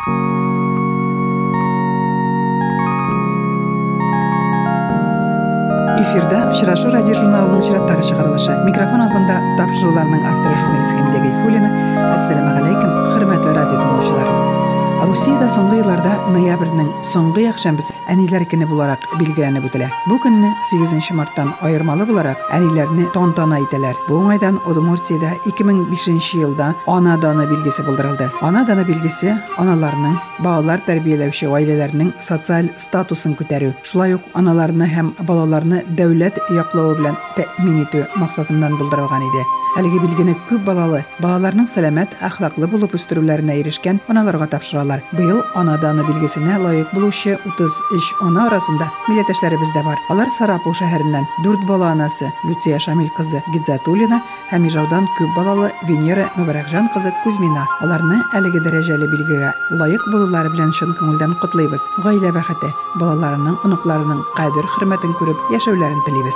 Эфирда «Очрашу» радио журналының чираттагы чыгарылышы. Микрофон алдында тапшыруларның авторы журналист Камилә Гайфуллина. Ассаламу алейкум, хөрмәтле радио тыңлаучылар. Русиядә соңгы елларда ноябрьнең соңгы якшәмбесе әниләр көне буларак билгеләнеп үтелә. Бу көнне 8 марттан аермалы буларак әниләрне тантана итәләр. Бу уңайдан Удмуртиядә 2005 елда ана даны билгесе булдырылды. Ана даны билгесе аналарның, балалар тәрбияләүче гаиләләрнең социаль статусын күтәрү, шулай ук аналарны һәм балаларны дәүләт яклауы белән тәэмин итү максатыннан булдырылган иде. Әлеге билгене күп балалы, балаларның сәламәт, әхлаклы булып үстерүләренә ирешкән аналарга тапшыралар. Быел ана даны билгесенә лаек булучы 33 ана арасында милләттәшләребез дә бар. Алар Сарапул шәһәреннән 4 бала анасы Люция Шамил кызы Гидзатуллина һәм Ижаудан күп балалы Венера Мөбарәкҗан кызы Кузьмина. Аларны әлеге дәрәҗәле билгегә лаек булулары белән чын күңелдән котлыйбыз. Гаилә бәхете, балаларының, оныкларының кадер-хөрмәтен күреп яшәүләрен телибез.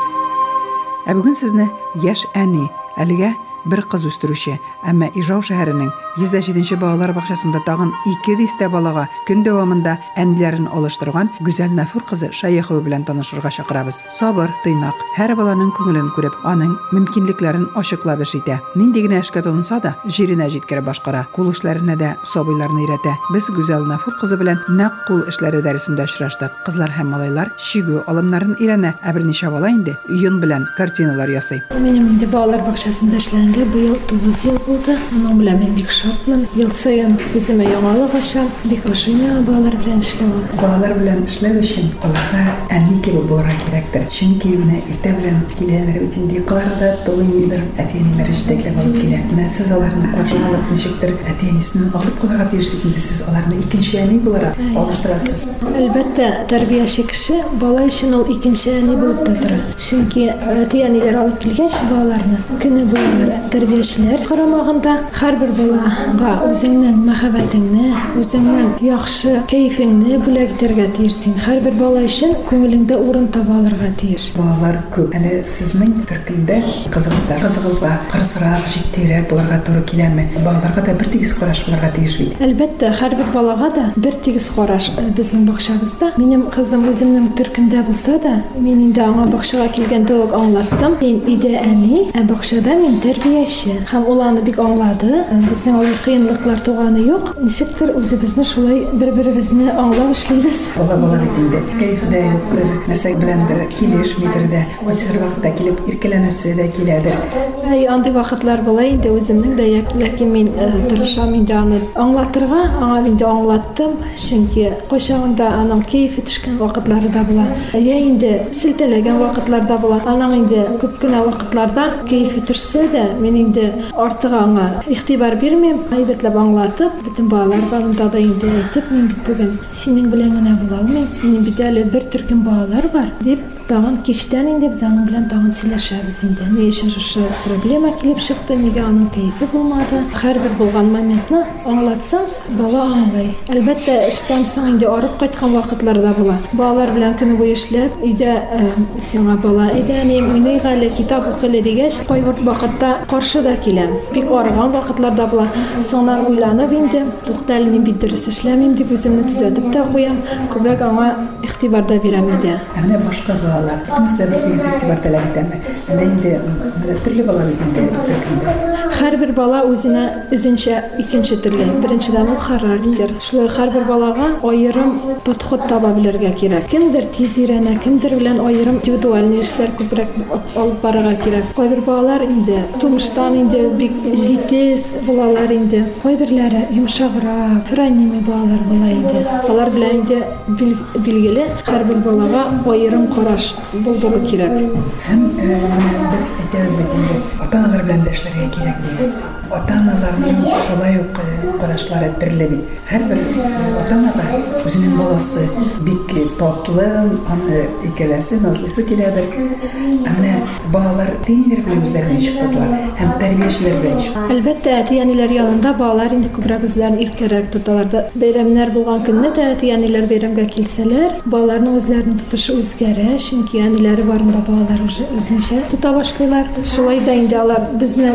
Ә бүген сезне яшь әни, әлегә бер кыз үстерүче, әмма Ижау шәһәренең 107-нче балалар бакчасында тагын 200 балага көн дәвамында әниләрен алыштырган Гүзәл Нафур кызы Шаяхова белән танышырга чакырабыз. Сабыр, тыйнак, һәр баланың күңелен күреп, аның мөмкинлекләрен ачыклап эш итә. Нинди генә эшкә тотынса да, җиренә җиткереп башкара. Кул эшләренә дә сабыйларны өйрәтә. Без Гүзәл Нафур кызы белән нәкъ кул эшләре дәресендә очраштык. Кызлар һәм малайлар шигү алымнарын өйрәнә, ә берничә бала инде уен белән картиналар ясый. Минем инде балалар бакчасында эшләнгән быел 9 ел булды. Моның белән мин бик шатмын. Ел саен үземә яңалык ачам, бик ошыймы балалар белән эшләү. Балалар белән эшләү өчен аларга әни кебек булырга кирәктер. Чөнки менә иртә белән киләләр бит инде кыларда тугыймыдыр. Әти-әниләр җитәкләп алып килә. Менә сез аларны каршы алып ничектер әти-әнисен алып калырга тиешлек инде сез аларны икенче әни буларак алыштырасыз. Әлбәттә, тәрбияче кеше бала өчен ул икенче әни булып та тора. Чөнки әти-әниләр алып килгәч балаларны көне буе тәрбиячеләр карамагында һәрбер балага үзеңнең мәхәббәтеңне, үзеңнең яхшы кайфыңны бүләк итәргә тиешсең. Һәрбер бала өчен күңелеңдә урын таба алырга тиеш. Балалар күп. Әле сезнең төркемдә кызыгызга кырысрак, җитдирәк булырга туры киләме? Балаларга да бер тигез караш булырга тиеш бит. Әлбәттә, һәрбер балага да бер тигез караш. Безнең бакчабызда минем кызым үземнең төркемдә булса да, мин инде аңа бакчага килгәндә үк аңлаттым. Мин өйдә әни, ә бакчада мин тәрбияче. Һәм ул аны бик аңлады. Безнең кыенлыклар туганы юк. Ничектер үзебезне шулай бер-беребезне аңлап эшлибез. Бала бит инде. Кайфда юктыр, нәрсә беләндер килешмидер дә, һәр вакытта килеп иркәләнәсе дә киләдер. Андый вакытлар була инде үземнең дә, ләкин мин тырышам инде аны аңлатырга, аңа инде аңлаттым. Чөнки кайчагында аның кайфы төшкән вакытлары да була. Инде силтәләгән вакытлар да була. Аның инде күп кенә вакытларда кайфы төшсә дә, мин инде артык аңа игътибар бирмим. Әйбәтләп аңлатып, бөтен балалар барында да инде әйтеп, мин бүген синең белән генә була алмыйм. Минем бит әле бер төркем балалар бар дип, тагын кичтән инде без аның белән тагын сөйләшәбез инде. Ни өчен шушы проблема килеп чыкты, нигә аның кайфы булмады? Һәрбер булган моментны аңлатсаң, бала аңлый. Әлбәттә, эштән соң инде арып кайткан вакытлар да була. Балалар белән көне буе эшләп, өйдә сиңа бала, әйдәни, уйныйга әле, китап укый дигәч, кайбер вакытта каршы да киләм. Бик арыган вакытлар да була. Соңнан уйланып инде, тукталь, мин бит дөрес эшләмим дип үземне төзәтеп тә куям. Күбрәк аңа игътибар да бирәм иде. Менә башка балалар, нәрсә бер тигез игътибар таләп итәме? Әле инде төрле балалар инде төркемдә. Һәрбер бала үзенчә икенче төрле. Беренчедән ул характер. Шулай һәрбер балага аерым подход таба белергә кирәк. Кемдер тиз өйрәнә, кемдер белән аерым индивидуаль эшләр күбрәк алып барырга кирәк. Кайбер балалар инде тумыштан инде бик җитез балалар инде. Кайберләре йомшаграк, ранимый балалар була инде. Алар белән инде билгеле һәрбер балага аерым караш булдыру кирәк. Һәм без әйтәбез бит инде, ата-аналар белән дә эшләргә кирәк дибез. Ата-аналарның шулай ук карашлары төрле бит. Һәрбер ата-анага үзенең баласы бик татлы, аны икеләсе, назлысы киләдер. Менә балалар тинер белән үзләрен чыктылар һәм тәрбиячеләр белән. Әлбәттә, әти-әниләр янында балалар инде күбрәк үзләрен иркәрәк тоталар. Бәйрәмнәр булган көнне дә әти-әниләр бәйрәмгә килсәләр, балаларның үзләренең тотышы үзгәрә, чөнки әниләре барында балалар үзенчә тота башлыйлар. Шулай да инде алар безне күз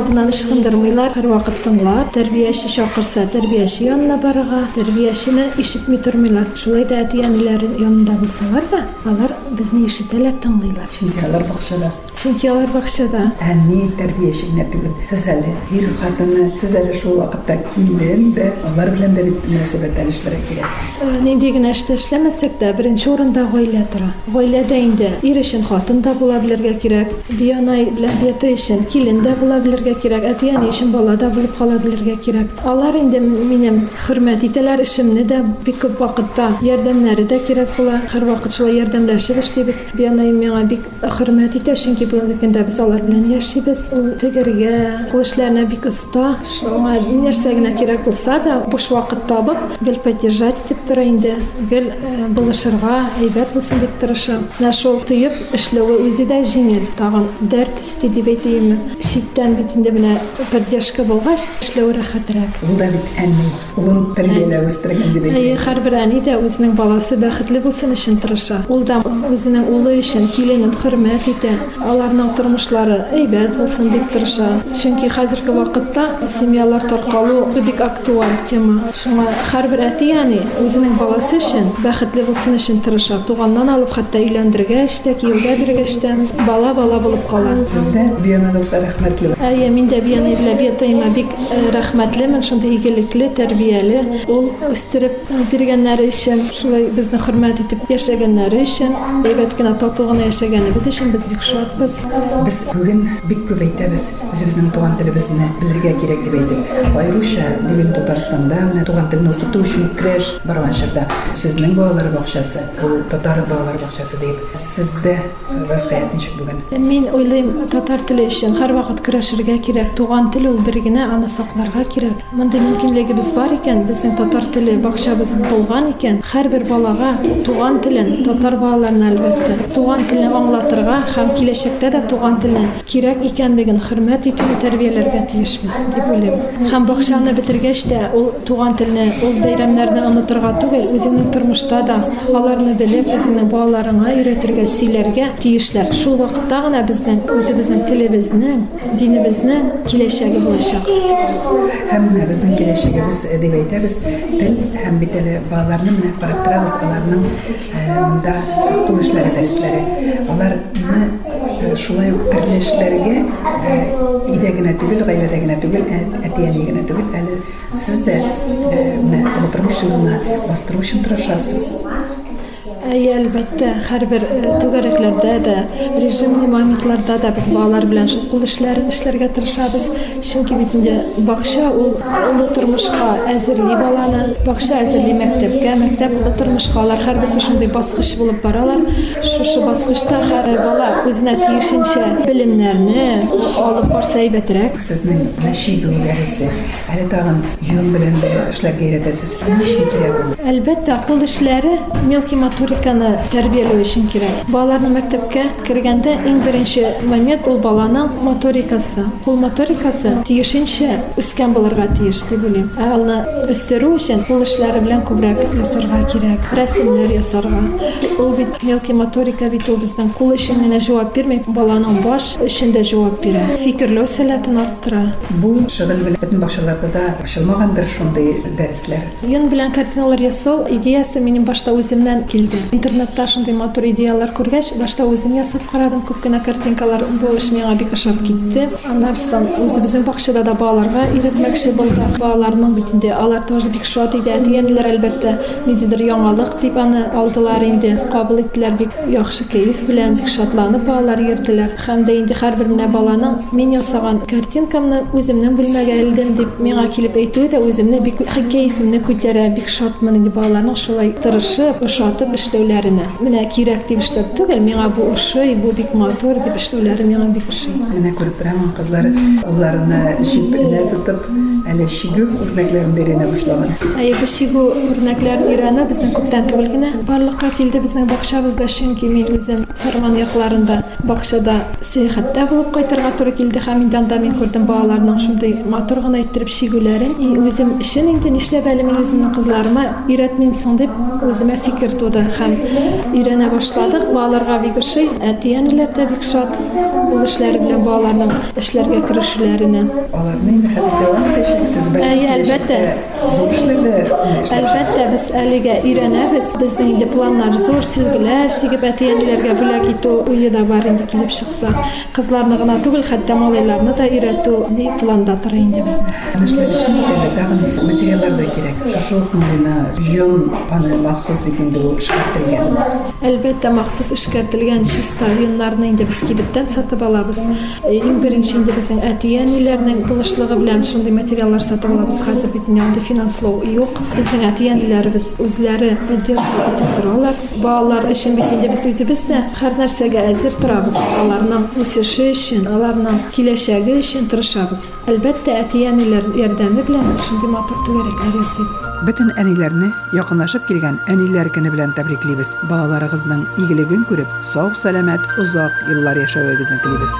алдынан ышкындырмыйлар, һәрвакыт тыңлап, тәрбияче чакырса, тәрбияче янына барырга, тәрбиячене ишетми тормыйлар. Шулай да әти-әниләр янында булсалар да, алар безне ишетәләр, тыңлыйлар. Чөнки алар бакчада. Чөнки алар бакчада. Әни тәрбиячегә түгел. Сез әле ир хатыны, сез әле шул вакытта килен дә, алар белән дә мөнәсәбәттән эшләргә кирәк. Нинди генә эшләмәсәк тә, беренче урында гаилә тора. Гаиләдә инде ир өчен хатын да була белергә кирәк, биянай белән бияты өчен килен дә була белергә кирәк, әти-әни өчен бала да булып кала белергә кирәк. Алар инде минем хөрмәт итәләр, эшемне дә бик күп вакытта ярдәмнәре дә кирәк була. Һәрвакыт шулай ярдәмләшеп эшлибез. Биянай миңа бик хөрмәт итә, чөнки бүгенге көндә без алар белән яшибез. Ул тегергә, кул эшләренә бик оста. Шуңа нәрсә генә кирәк булса да, буш вакыт табып, гел поддержать итеп тора инде. Гел булышырга, әйбәт булсын дип тырыша. Менә шул тыйып эшләүе үзе дә җиңел. Тагын дәрт исте дип әйтәйем. Читтән бит инде менә поддержка булгач, эшләү рәхәтрәк. Ул да бит әни, улын тәрбияләп үстергән дип әйтә. Һәрбер әни дә үзенең баласы бәхетле булсын өчен тырыша. Ул да үзенең улы өчен киленен хөрмәт итә. Аларның тормышлары әйбәт булсын дип тырыша. Чөнки хәзерге вакытта семьялар таркалу бик актуаль тема. Шуңа һәрбер әти-әни үзенең баласы өчен бәхетле булсын өчен тырыша. Туганнан алып хәтта өйләндергәч тә, кияүгә биргәч тә бала булып кала. Сездә биянагызга рәхмәтле. Мин дә биянай белән биятайма бик рәхмәтлемен, шундый игелекле, тәрбияле. Ул үстереп биргәннәре өчен, шулай безне хөрмәт итеп яшәгәннәре өчен, әйбәт кенә тату гына яшәгәнебез өчен без бик шатбыз. Без бүген бик күп әйтәбез, үзебезнең туган телебезне белергә кирәк дип әйтеп. Айруча бүген Татарстанда менә туган телне укыту өчен креш барган чорда. Сезнең балалар бакчасы, ул татар балалар бакчасы дип. Сездә вазгыять ничек бүген? Мин уйлыйм, татар теле өчен һәрвакыт көрәшергә кирәк. Туган тел ул бер генә, аны сакларга кирәк. Мондый мөмкинлегебез бар икән, безнең татар теле бакчабыз булган икән, һәрбер балага туган телен, татар балаларына әлбәттә, туган телне аңлатырга һәм киләчәктә дә туган телне кирәк икәнлеген хөрмәт итүне тәрбияләргә тиешбез дип уйлыйм. Һәм бакчаны бетергәч тә ул туган телне, ул бәйрәмнәрне онытырга түгел, үзеңнең тормышта да аларны белеп, үзеңнең балаларыңа өйрәтергә, сөйләргә тиешләр. Шул вакытта гына безнең үзебезнең телебезнең, динебезнең киләчәге булачак. Һәм безнең киләчәгебез дип әйтәбез, тел һәм бит әле балаларны менә карап торабыз, аларның монда кул эшләре, дәресләре. Аларны шулай ук төрле эшләргә өйдә генә түгел, гаиләдә генә түгел, әти-әни генә түгел, әле сез дә менә тормыш юлына бастыру өчен тырышасыз. Әлбәттә, һәрбер түгәрәкләрдә дә, режимный моментларда да без балалар белән шул кул эшләрен эшләргә тырышабыз. Чөнки бит инде бакча ул улы тормышка әзерли баланы, бакча әзерли мәктәпкә, мәктәп улы тормышка. Алар һәрберсе шундый баскыч булып баралар. Шушы баскычта һәр бала үзенә тиешенчә белемнәрне алып барса әйбәтрәк. Сезнең нәшидләрегез, әле тагын юн белән дә эшләргә өйрәтәсез. Ничек кирәк ул? Әлбәттә, кул эшләре мелкий моториканы тәрбияләү өчен кирәк. Балаларны мәктәпкә кергәндә иң беренче момент ул баланың моторикасы. Кул моторикасы тиешенчә үскән булырга тиеш дип уйлыйм. Аны үстерү өчен кул эшләре белән күбрәк ясарга кирәк. Рәсемнәр ясарга. Ул бит мелкий моторика бит ул безнең кул өчен генә җавап бирмәй, баланың баш өчен дә җавап бирә. Фикерләү сәләтен арттыра. Бу шөгыль белән бөтен бакчаларда да ачылмагандыр шундый дәресләр. Йон белән картиналар ясау идеясы минем башта үземнән килде. Интернетта шундый матур идеялар күргәч, башта үзем ясап карадым, күп кенә картинкалар, бу эш миңа бик ошап китте. Аннан соң үзебезнең бакчада да балаларга өйрәтмәкче булдык. Балаларның бит инде алар тоже бик шат иде. Әти-әниләр әлбәттә ниндидер яңалык дип аны алдылар инде. Кабул иттеләр бик яхшы кәеф белән, бик шатланып балалар йөрделәр. Һәм дә инде һәрбер менә баланың мин ясаган картинкамны үземнең бүлмәгә элдем дип миңа килеп әйтүе дә үземне бик кәефемне күтәрә, бик шатмын инде балаларның шулай тырышып, ошатып эшләүләренә. Менә кирәк дип эшләп түгел, миңа бу ошый, бу бик матур дип эшләүләре миңа бик ошый. Менә күреп торам, кызлар кулларына җипне тотып, әле шигү үрнәкләрен биренә башлаган. Бу шигү үрнәкләрен өйрәнү безнең күптән түгел генә барлыкка килде безнең бакчабызда, чөнки мин үзем Сарман якларында бакчада сәяхәттә булып кайтырга туры килде һәм инде анда мин күрдем балаларның шундый матур гына иттереп шигүләрен. Үзем өчен инде нишләп әле мин үземнең кызларыма өйрәтмим соң дип үземә фикер туды. һәм өйрәнә башладык. Балаларга бик ошый, әти-әниләр дә бик шат ул эшләре белән балаларның эшләргә керешүләренә. Аларны инде хәзер дәвам итәчәксез. Әлбәттә. Зур эшләрдә. Әлбәттә, без әлегә өйрәнәбез. Безнең инде планнар зур, сөлгеләр чигеп әти-әниләргә бүләк итү уе да бар инде килеп чыкса. Кызларны гына түгел, хәтта малайларны да өйрәтү ни планда тора инде безнең. Эшләр өчен тагын материаллар да кирәк. Шушы ук йон аны махсус бит инде ул эшкәртелгән. Әлбәттә, махсус эшкәртелгән чиста йоннарны инде без кибеттән сатып алабыз. Иң беренче инде безнең әти-әниләрнең булышлыгы белән шундый материаллар сатып алабыз. Хәзер бит инде финанслау юк. Безнең әти-әниләребез үзләре поддержка итеп торалар. Балалар өчен бит инде без үзебез дә һәр нәрсәгә әзер торабыз. Аларның үсеше өчен, аларның киләчәге өчен тырышабыз. Әлбәттә, әти-әниләр ярдәме белән шундый матур түгәрәкләр ясыйбыз. Бөтен әниләрне якынлашып килгән әниләр көне белән тәбриклибез. Балаларыгызның игелеген күреп, сау-сәламәт, узак еллар яшәвегезне телибез.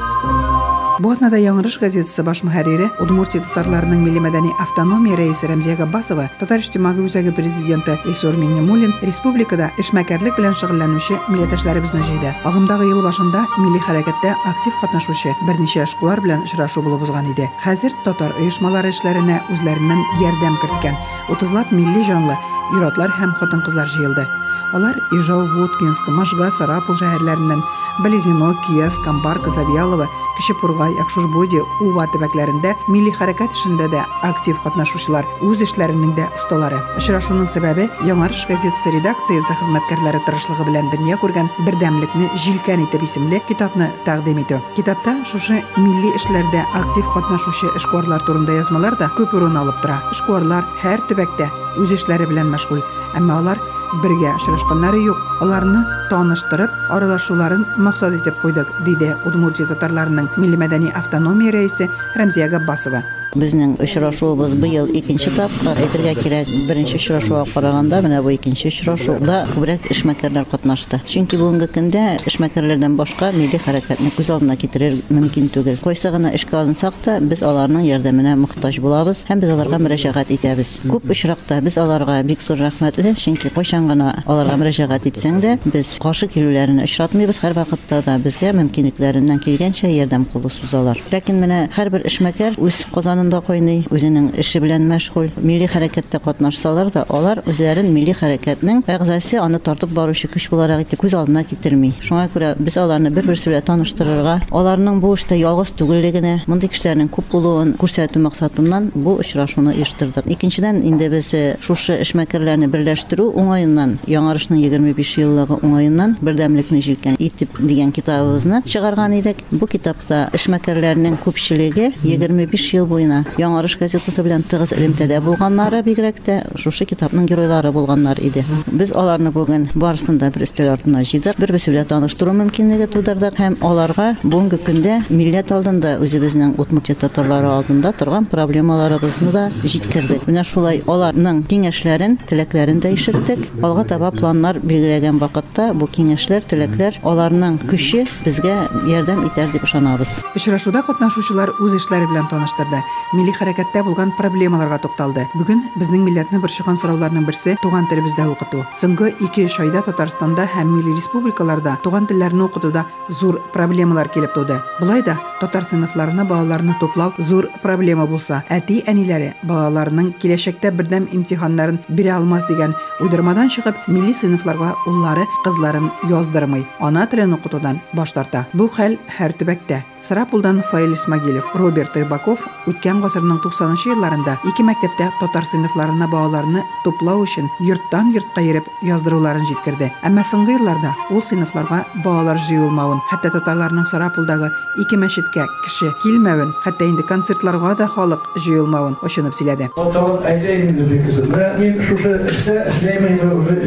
Бу атнада Яңгырыш газетасы баш мөхәррире, Удмуртия татарларының милли мәдәни автономия рәисе Рәмзия Габбасова, Татар иҗтимагый үзәге президенты Илсур Миңнемуллин республикада эшмәкәрлек белән шөгыльләнүче милләттәшләребезне җыйды. Агымдагы ел башында милли хәрәкәттә актив катнашучы берничә эшкуар белән очрашу булып узган иде. Хәзер татар оешмалары эшләренә үзләреннән ярдәм керткән 30лап милли җанлы ир-атлар һәм хатын-кызлар җыелды. Алар Ижау, Воткинск, Можга, Сарапул шәһәрләреннән Белезино, Кияс, Камбарка, Завьялова, Кече Пургай, Акшурбоди, Ува төбәкләрендә милли хәрәкәт эшендә дә актив катнашучылар, үз эшләренең дә осталары. Очрашуның сәбәбе Яңгырыш газетасы редакциясе хезмәткәрләре тырышлыгы белән дөнья күргән бердәмлекне җилкән итеп исемле китапны тәкъдим итү. Китапта шушы милли эшләрдә актив катнашучы эшкуарлар турында язмалар да күп урын алып тора. Эшкуарлар һәр төбәктә үз эшләре белән мәшгуль, әмма алар бергә очрашканнары юк. Аларны таныштырып, аралашуларын максат итеп куйдык, диде Удмуртия татарларының милли мәдәни автономия рәисе Рәмзия Габбасова. Безнең очрашуыбыз быел икенче тапкыр. Әйтергә кирәк, беренче очрашуга караганда менә бу икенче очрашуда күбрәк эшмәкәрләр катнашты. Чөнки бүгенге көндә эшмәкәрләрдән башка милли хәрәкәтне күз алдына китерер мөмкин түгел. Кайсы гына эшкә алынсак та, без аларның ярдәменә мохтаҗ булабыз һәм без аларга мөрәҗәгать итәбез. Күп очракта без аларга бик зур рәхмәтле, чөнки кайчан гына аларга мөрәҗәгать итсәң дә, без каршы килүләрен очратмыйбыз. Һәр вакытта да безгә мөмкинлекләреннән килгәнчә ярдәм кулы сузалар. Ләкин менә һәрбер эшмәкәр үз Казанында кайный, үзенең эше белән мәшгуль. Милли хәрәкәттә катнашсалар да, алар үзләрен милли хәрәкәтнең әгъзасы, аны тартып баручы көч буларак итеп күз алдына китерми. Шуңа күрә без аларны бер-берсе белән таныштырырга, аларның бу эштә ялгыз түгеллегенә, мондый кешеләрнең күп булуын күрсәтү максатыннан бу очрашуны оештырдык. Икенчедән, инде без шушы эшмәкәрләрне берләштерү уңаеннан, Яңгырышның 25 еллыгы уңаеннан бердәмлекне җилкән итеп дигән китабыбызны чыгарган идек. Бу китапта эшмәкәрләрнең күпчелеге 25 ел буена Яңгырыш газетасы белән тыгыз элемтәдә булганнары, бигрәк тә шушы китапның геройлары булганнар иде. Без аларны бүген барысын да бер өстәл артына җыйдык, бер-берсе белән таныштыру мөмкинлеге тудырдык һәм аларга бүгенге көндә милләт алдында, үзебезнең Удмуртия татарлары алдында торган проблемаларыбызны да җиткердек. Менә шулай аларның киңәшләрен, теләкләрен дә ишеттек. Алга таба планнар билгеләгән вакытта бу киңәшләр, теләкләр, аларның көче безгә ярдәм итәр дип ышанабыз. Очрашуда катнашучылар үз эшләре белән таныштырды. Милли хәрәкәттә булган проблемаларга тукталды. Бүген безнең милләтне борчыган сорауларның берсе туган телебездә укыту. Соңгы 2-3 айда Татарстанда һәм милли республикаларда туган телләрне укытуда зур проблемалар килеп туды. Булай да татар сыйныфларына балаларны туплау зур проблема булса, әти-әниләре балаларының киләчәктә бердәм имтиханнарын бирә алмас дигән уйдырмадан чыгып, милли сыйныфларга уллары, кызларын яздырмый, ана телен укытудан баш тарта. Бу хәл һәр төбәктә. Сарапулдан Фаил Исмагилев, Роберт Рыбаков үткән гасырның 90-нчы елларында 2 мәктәптә татар сыйныфларына балаларны туплау өчен йорттан йортка йөреп яздыруларын җиткерде. Әмма соңгы елларда ул сыйныфларга балалар җыелмавын, хәтта татарларның Сарапулдагы 2 мәчеткә кеше килмәвен, хәтта инде концертларга да халык җыелмавын ошынып сөйләде. Тават әйтәйем инде бик кызым. Мин шушы эштә эшләймен уже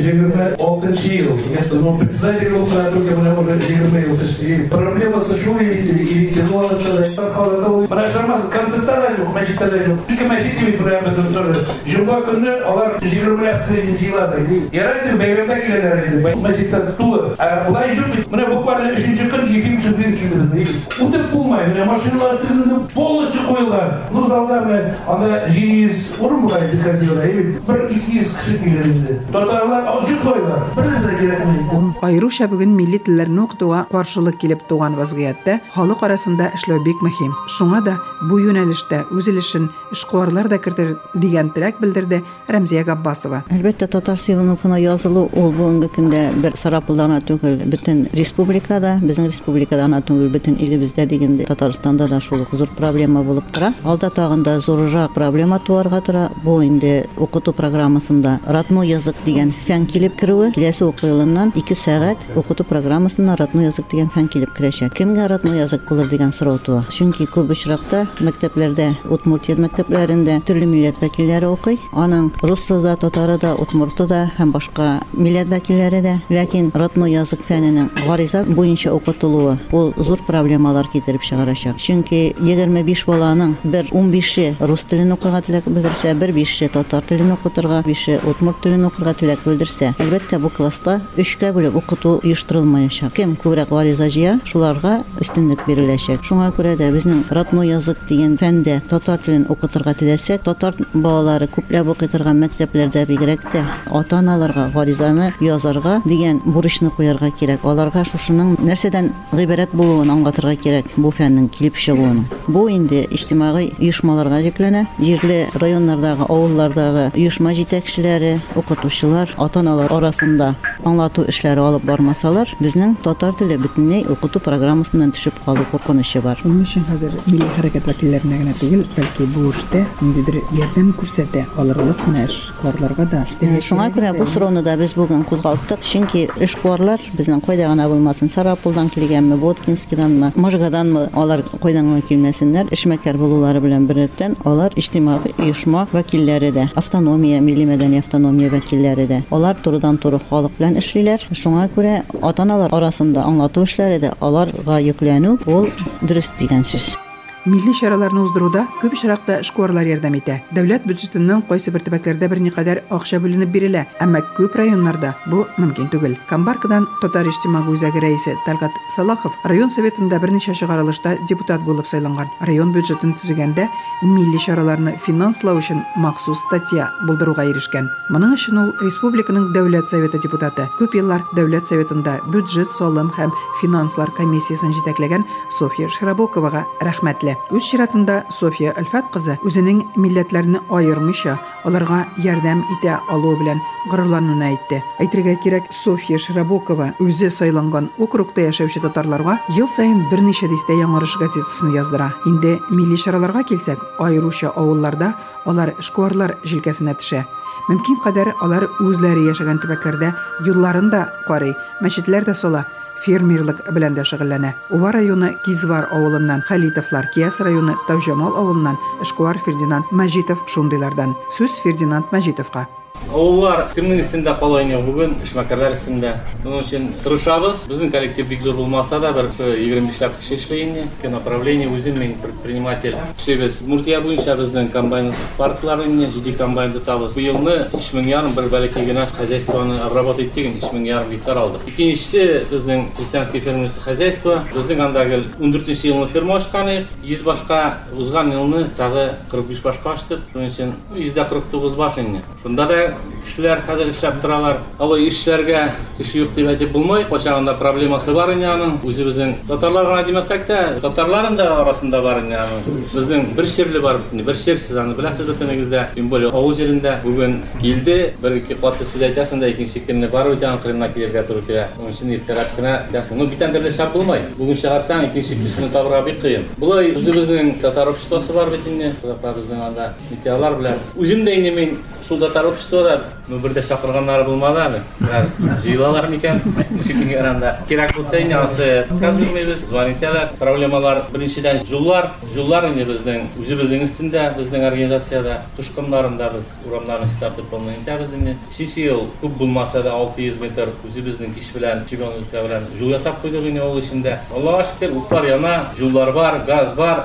26 ел. Я председатель был уже 20 ел. Проблемасы шул иде. президенті олады. Мына жармасы концертта да жоқ, мәжитта да жоқ. Екі мәжит емес біреуіміздің тоже. Жұма күні олар 20 акция жиылады. Ярайды бәйремде келеді. Мәжитта тулы. Бұлай жоқ. Мына буквально 3-ші күн ефим жүрген келдіңіз. Өтіп болмай. Мына машиналар түрінде полностью қойылған. Ну залдарына анда жиыз орын бұлайды қазира. 1-200 кіші келеді. Татарлар жүк қойылар. Бірімізде керекмейді. Айрыша бүген милли телләрне укытуга каршылык килеп туган вазгыятта халык арасында эшләү бик мөһим. Шуңа да бу юнәлештә үзелешен эшкуарлар да кертер дигән теләк белдерде Рәмзия Габбасова. Әлбәттә, татар сыйныфына язылу ул бүгенге көндә бер Сарапулдана түгел, бөтен республикада, безнең республикада гына түгел, бөтен илебездә дигәндә Татарстанда да шул зур проблема булып тора. Алда тагында зуррак проблема туарга тора. Бу инде укыту программасында родной язык дигән фән килеп керүе, киләсе уку елыннан 2 сәгать укыту программасына родной язык дигән фән килеп керәчәк. Кемгә родной язык булыр дигән сорау туа. Чөнки күп очракта мәктәпләрдә, Удмуртия мәктәпләрендә төрле милләт вәкилләре укый. Аның русы да, татары да, удмурты да һәм башка милләт вәкилләре дә. Ләкин родной язык фәненең гариза буенча укытылуы ул зур проблемалар китереп чыгарачак. Чөнки 25 баланың 15-е рус телен укырга теләк белдерсә, 5-е татар телен укытырга, 5-е удмурт телен укырга теләк белдерсә, әлбәттә бу класста 3-кә бүлеп укыту оештырылмаячак. Кем күбрәк гариза җыя, шуларга өстенлек биреләчәк. Шуңа күрә дә безнең родной язык дигән фәндә татар телен укытырга теләсәк, татар балалары күпләп укый торган мәктәпләрдә бигрәк тә ата-аналарга гаризаны язарга дигән бурычны куярга кирәк. Аларга шушының нәрсәдән гыйбарәт булуын аңлатырга кирәк, бу фәннең килеп чыгуын. Бу инде иҗтимагый оешмаларга йөкләнә. Җирле районнардагы, авыллардагы оешма җитәкчеләре, укытучылар, ата-аналар арасында аңлату эшләре алып бармасалар, безнең татар теле бөтенләй укыту программасыннан төшеп калу куркынычы бар. Шуның өчен хәзер милли хәрәкәт вәкилләренә генә түгел, бәлки бу эштә ниндидер ярдәм күрсәтә алырлык кына эшкуарларга да. Шуңа күрә бу сорауны да без бүген кузгалттык. Чөнки эшкуарлар безнең кайда гына булмасын, Сарапулдан килгәнме, Боткинскиданмы, Можгаданмы, алар кайдан гына килмәсеннәр, эшмәкәр булулары белән беррәттән алар иҗтимагый оешма вәкилләре дә, автономия, милли мәдәни автономия вәкилләре дә. Алар турыдан-туры халык белән эшлиләр. Шуңа күрә ата-аналар арасында аңлату эшләре дә аларга йөкләнү ул дөрес дигән сүз. Милли чараларны уздыруда күп очракта эшкуарлар ярдәм итә. Дәүләт бюджетыннан кайсы бер төбәкләрдә берникадәр акча бүленеп бирелә, әмма күп районнарда бу мөмкин түгел. Камбаркадан татар иҗтимагый үзәге рәисе Талгат Салахов район советында берничә чыгарылышта депутат булып сайланган. Район бюджетын төзегәндә милли чараларны финанслау өчен махсус статья булдыруга ирешкән. Моның өчен ул республиканың дәүләт советы депутаты, күп еллар дәүләт советында бюджет, салым һәм финанслар комиссиясын җитәкләгән София Шрабоковага рәхмәтле. Үз чиратында София Альфат кызы үзенең милләтләрне аермыйча аларга ярдәм итә алу белән горурлануын әйтте. Әйтергә кирәк, София Шрабокова үзе сайланган округта яшәүче татарларга ел саен берничә дистә яңарыш газетасын яздыра. Инде милли чараларга килсәк, аеруча авылларда алар эшкуарлар җилкәсенә төшә. Мөмкин кадәр алар үзләре яшәгән төбәкләрдә юлларында карый, мәчетләр дә сала. Фермерлык белән дә шөгыльләнә. Уба районы Кизвар авылыннан Халитовлар, Кияс районы Тавҗамал авылыннан эшкуар Фердинанд Мәҗитов шундыйлардан. Сүз Фердинанд Мәҗитовка. Олар кемнең исендә калайны бүген эшмәкәрләр исендә. Шуның өчен тырышабыз. Безнең коллектив бик зур булмаса да, бер 25 кеше эшләйне. Ке направление үзем мен предприниматель. Эшләбез. Муртия буенча безнең комбайн паркларында 7 комбайн тотабыз. Бу елны 3,5 бер бәләкәй генә хозяйствоны обработать иттек, 3,5 гектар алдык. Икенчесе безнең крестьянское фермерское хозяйство. Безнең андагы 14 елны ферма ачканы, 100 башка узган елны тагы 45 башка ачтык. Шуның өчен 149 баш инде. Шунда да кешеләр хәзер эшләп торалар. Алай эшләргә кеше юк дип әйтеп булмый. Кайчагында проблемасы бар инде аның. Үзебезнең татарларга димәсәк тә, татарларның да арасында бар инде аның. Безнең бер шерле бар, бер шерсез аны беләсез бөтенегездә. Тем более авыл җирендә бүген килде, бер-ике катлы сүз әйтәсең дә икенче көнне барып итән кырына килергә туры килә. Оның өчен иртәрәк кенә дәсең. Ну битән төрле шап булмай. Бүген чыгарсаң икенче кешене табырга бик кыен. Булай үзебезнең татар обществосы бар бит инде. Безнең анда митялар белән. Үзем дә инде мин шул татар обществода Birde çakırganlar bulmadı abi. Jıyılalar mıken? Şükür aranda. Kerak bolsa inansı. Kazbilmeybiz. Zvaniteler, problemalar birinçiden jullar indi bizden. Üzümüzün üstünde, bizden organizasyada, kışkınlarında biz uğramlarını startıp olmayınca bizden. Şişi yıl küp bulmasa da 600 metre üzümüzün kiş bilen, çigonlukta bilen jul yasap koyduk yine ol işinde. Allah'a şükür utlar yana, jullar var, gaz var.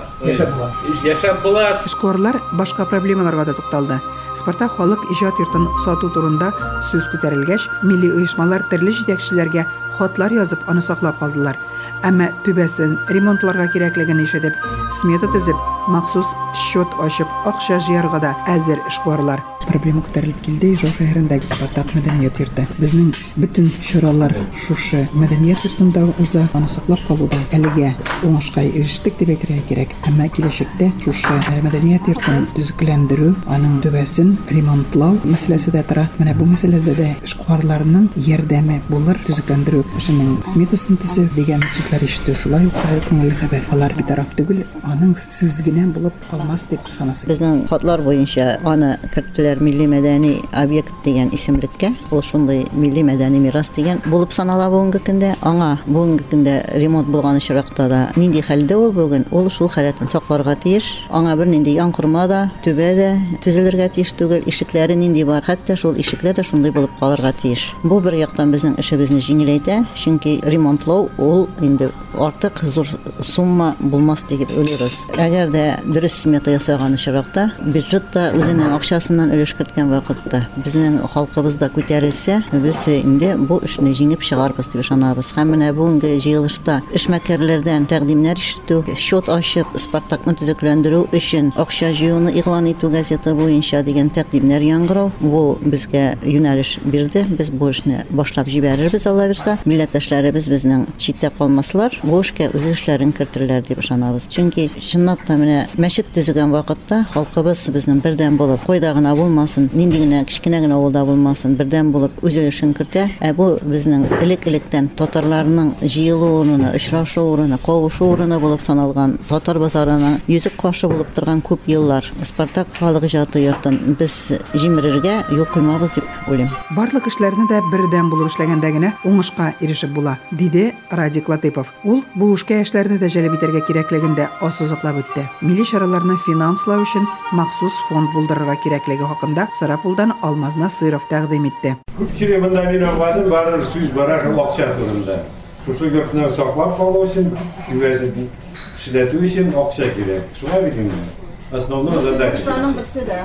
Yaşap bulat. Эшкуарлар башка проблемаларга да тукталды. Спартак халык иҗат йортын сату турында сүз күтәрелгәч, милли оешмалар төрле җитәкчеләргә хатлар язып, аны саклап калдылар. Әмма түбәсен ремонтларга кирәклеген ишетеп, смета төзеп, махсус счет ачып, акча җыярга да әзер эшкуарлар. Проблема күтәрелеп килде Ижау шәһәрендәге Спартак мәдәният йорты. Безнең бөтен чаралар шушы мәдәният йортында уза, аны саклап калуда әлегә уңышка ирештек дип әйтергә кирәк. Әмма киләчәктә шушы мәдәният йортын төзекләндерү, аның түбәсен ремонтлау мәсьәләсе дә тора. Менә бу мәсьәләдә дә эшкуарларның ярдәме булыр, төзекләндерү эшенең сметасын төзү дигән сүзләр ишетү. Шулай ук күңелле хәбәр. Алар битараф түгел, аның сүз генә булып калмас дип ышанасы. Безнең хатлар буенча аны кертеләр милли мәдәни объект дигән исемлеккә. Ул шундый милли мәдәни мирас дигән булып санала бүгенге көндә. Аңа бүгенге көндә ремонт булган чиракта да нинди хәлдә ул бүген? Ул шул хәләтен сакларга тиеш. Аңа бер нинди яңкырма да, түбә дә төзелергә тиеш түгел. Ишекләре нинди бар? Хәтта шул ишекләр дә шундый булып калырга тиеш. Бу бер яктан безнең эшебезне җиңеләйтә, чөнки ремонтлау ул инде артык зур сумма булмас дип уйлыйбыз. Әгәр дә дөрес смета ясаган чиракта, бюджетта үзенең акчасыннан өлеш керткән вакытта безнең халкыбызда күтәрелсә, без инде бу эшне җиңеп чыгарбыз дип ышанабыз. Һәм менә бүгенге җыелышта эшмәкәрләрдән тәкъдимнәр ишетү, счет ачып, Спартакны төзекләндерү өчен акча җыюны игълан итү газета буенча дигән тәкъдимнәр яңгырау, бу безгә юнәлеш бирде. Без бу эшне башлап җибәрербез, Алла бирсә. Милләттәшләребез безнең читтә калмаслар, бу эшкә үз эшләрен кертерләр дип ышанабыз. Чөнки чынлап та менә мәчет төзегән вакытта халкыбыз безнең бердән булып, койда гына булмасын, нинди генә кичкенә генә авылда булмасын, бердән булып үз өлешен кертә. Бу безнең элек-электән татарларның җыелу урыны, очрашу урыны, кавышу урыны булып саналган татар базарына йөзек каршы булып торган күп еллар Спартак халык иҗаты йортын без җимерергә юл куймабыз дип уйлыйм. Барлык эшләрне дә бердән булып эшләгәндә генә уңышка ирешеп була, диде Радик Латыпов. Ул бу эшкә эшләрне дә җәлеп итәргә кирәклеген дә ассызыклап үтте. Милли чараларны финанслау өчен махсус фонд булдырырга кирәклеге хакында Сарапулдан Алмаз Насыров тәкъдим итте. Күпчелек монда мин аңладым, бары сүз бара шул акча турында. Шушы йортны саклап калу өчен, юзен эшләтү өчен акча кирәк. Шулай бит инде. Основной задача. Шуларның берсе дә.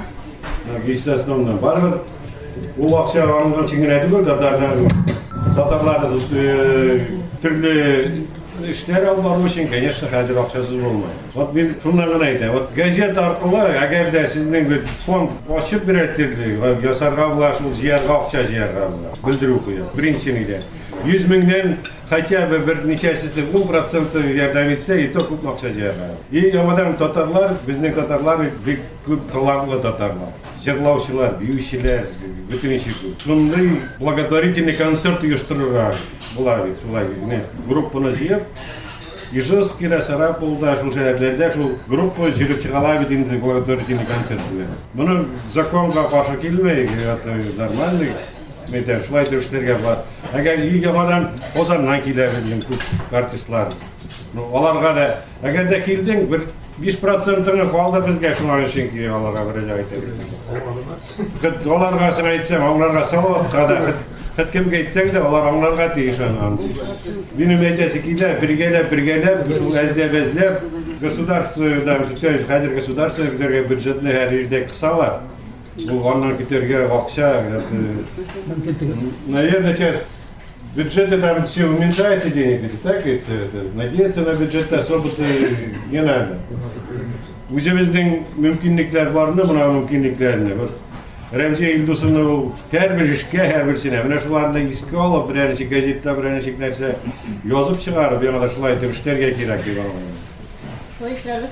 Основной барбыр. Ул акча алынган чиңгенә түгел, татарлар төрле эшләр алып бару өчен, конечно, хәзер акчасыз булмый. Вот мин шуннан гына әйтәм. Вот газет аркылы, әгәр дә сезнең фонд ачып бирәрләр, ясарга була, шул җыярга акча җыярга була. Белдерү куя. Беренчедән 100 меңнән хотя бы бер ничәсесе 10% ярдәм итсә, и то күп акча җыярга. И ямадан татарлар, безнең татарлар бик күп талантлы татарлар. Җырлаучылар, биючеләр, бөтен ишек. Шундый благотворительный концерт оештырырга була бит, шулай бит. Группаны җыеп, Ижевский, Сарапулда, шул шәһәрләрдә шул группа җыеп чыгала бит инде благотворительный концерт белән. Моны законга каршы килмәй, это нормально. Мәйтәм, шулай дип эшләргә бар. Әгәр ямадан Озаннан килә безнең күп артистлар. Аларга да, әгәр дә килдең, бер 5%-ны калды безгә шуның өчен ки аларга бирәләр әйтәбез. Аларга син әйтсәң, аңларга салаватка да хәт кемгә әйтсәң дә алар аңларга тиеш аны. Минем әйтәсе килә, бергәләп, шул әзләп, государстводан китә, хәзер государство бюджетны һәр җирдә кысалар. Бу аннан китәргә акча, наверное, сейчас бюджет там все уменьшается денег, так ведь надеяться на бюджет особо-то не надо. Үзебезнең мөмкинлекләр барны, моны мөмкинлекләрне. Вот Рәмзия Илдусовны ул һәрбер эшкә, һәрбер сенә менә шуларны искә алып, берәр ничә газетта, берәр ничә нәрсә язып чыгарып, яңа да шулай итеп эшләргә кирәк дип аңлыйм. Шулай эшләрбез.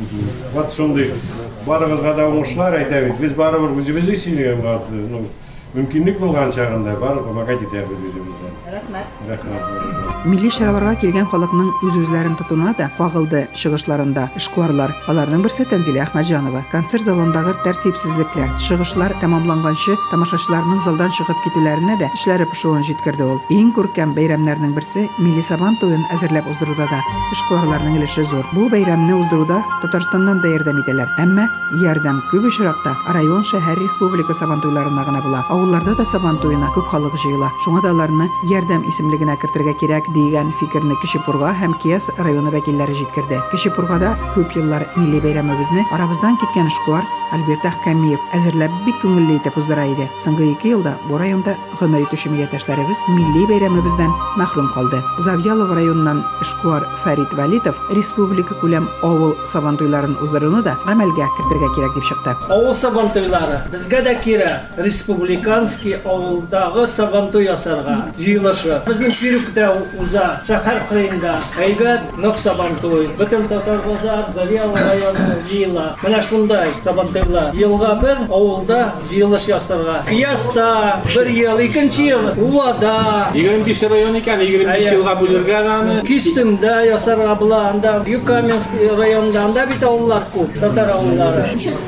Вот шундый барыгызга да уңышлар әйтәбез. Без барыбер үзебезне сөйләгән, Мөмкинлек булган чагында бар, көмәк итәбез үзебездән. Рәхмәт. Милли чараларга килгән халыкның үз-үзләрен тотуна да кагылды чыгышларында эшкуарлар. Аларның берсе Тәнзилә Әхмәтҗанова. Концерт залындагы тәртипсезлекләр, чыгышлар тәмамланганчы тамашачыларның залдан чыгып китүләренә дә эшләре пошуын җиткерде ул. Иң күркәм бәйрәмнәрнең берсе милли сабан туен әзерләп уздыруда да эшкуарларның өлеше зур. Бу бәйрәмне уздыруда Татарстаннан да ярдәм итәләр. Әмма ярдәм күп очракта район, шәһәр, республика сабан туйларына гына була. Авылларда да сабан туена күп халык җыела. Шуңа да аларны ярдәм исемлегенә кертергә кирәк дигән фикерне Кечепурга һәм Кияс районы вәкилләре җиткерде. Кечепургада күп еллар милли бәйрәмебезне арабыздан киткән эшкуар Альберт Әхкәмиев әзерләп бик күңелле итеп уздыра иде. Соңгы 2 елда бу районда гомер итүче милләттәшләребез милли бәйрәмебездән мәхрүм калды. Завьялов районыннан эшкуар Фәрит Валитов республика күләм авыл сабан туйларын уздыруны да гамәлгә кертергә кирәк дип чыкты. Авыл сабантуйлары безгә дә кирәк. Республиканский авылдагы сабантуй ясарга җыелышы. Безнең Кирүктә уза, шәһәр кырыенда әйбәт нык сабантуй. Бөтен татар базар, Завьялов районы җыела. Менә шундай сабантуйлар. Елга бер авылда җыелыш ясарга. Кияста бер ел, икенче ел Улада. 25 район икән, 25 елга бүлергә аны. Кистемдә ясарга була, анда Юкаменск районында анда бит авыллар күп, татар авыллары.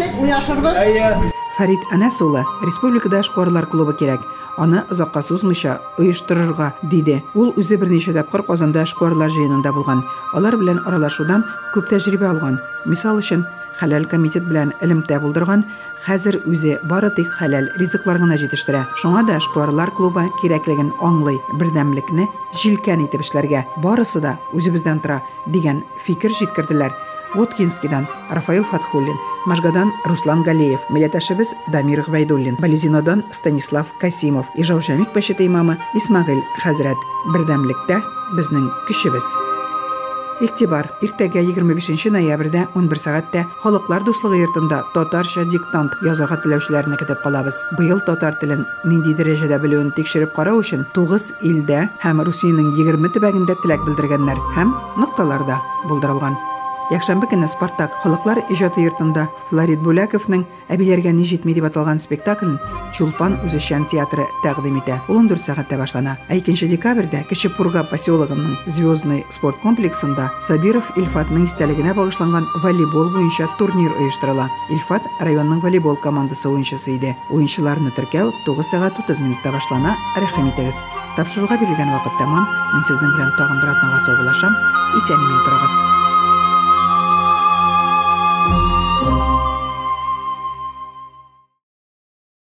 Фәрит Әнәс улы республикада эшкуарлар клубы кирәк. Аны озакка сузмыйча оештырырга диде. Ул үзе берничә тапкыр Казанда эшкуарлар җыенында булган. Алар белән аралашудан күп тәҗрибә алган. Мисал өчен, хәләл комитет белән элемтә булдырган, хәзер үзе бары тик хәләл ризыклар гына җитештерә. Шуңа да эшкуарлар клубы кирәклеген аңлый, бердәмлекне җилкән итеп эшләргә. Барысы да үзебездән тора дигән фикер җиткерделәр. Воткинскидан Рафаил Фатхуллин, Можгадан Руслан Галеев, милләттәшебез Дамир Гвайдуллин, Болезинодан Станислав Касимов, Ижау Шәмик мәчете имамы Исмагыйль хәзрәт. Бердәмлектә безнең көчебез. Игътибар, иртәгә 25 ноябрьдә 11 сәгатьтә Халыклар дуслыгы йортында татарча диктант язарга теләүчеләрне көтеп калабыз. Быел татар телен нинди дәрәҗәдә белүен тикшереп карау өчен 9 илдә һәм Русиянең 20 төбәгендә теләк белдергәннәр һәм нокталарда булдырылган. Якшәмбе көнне Спартак Халыклар иҗаты йортында Флорид Буляковның «Әбиләргә ни җитми» дип аталган спектаклен Чулпан үзешчән театры тәкъдим итә. Ул 14 сәгатьтә башлана. 2 декабрьдә Кечепурга поселогының Звездный спорт комплексында Сабиров Илфатның истәлегенә багышланган волейбол буенча турнир оештырыла. Илфат районның волейбол командасы уенчысы иде. Уенчыларны теркәү 9 сәгать 30 минутта башлана. Рәхим итегез. Тапшыруга бирелгән вакыт тәмам. Мин сезнең белән тагын бер атнага саубуллашам. Исән-имин торыгыз.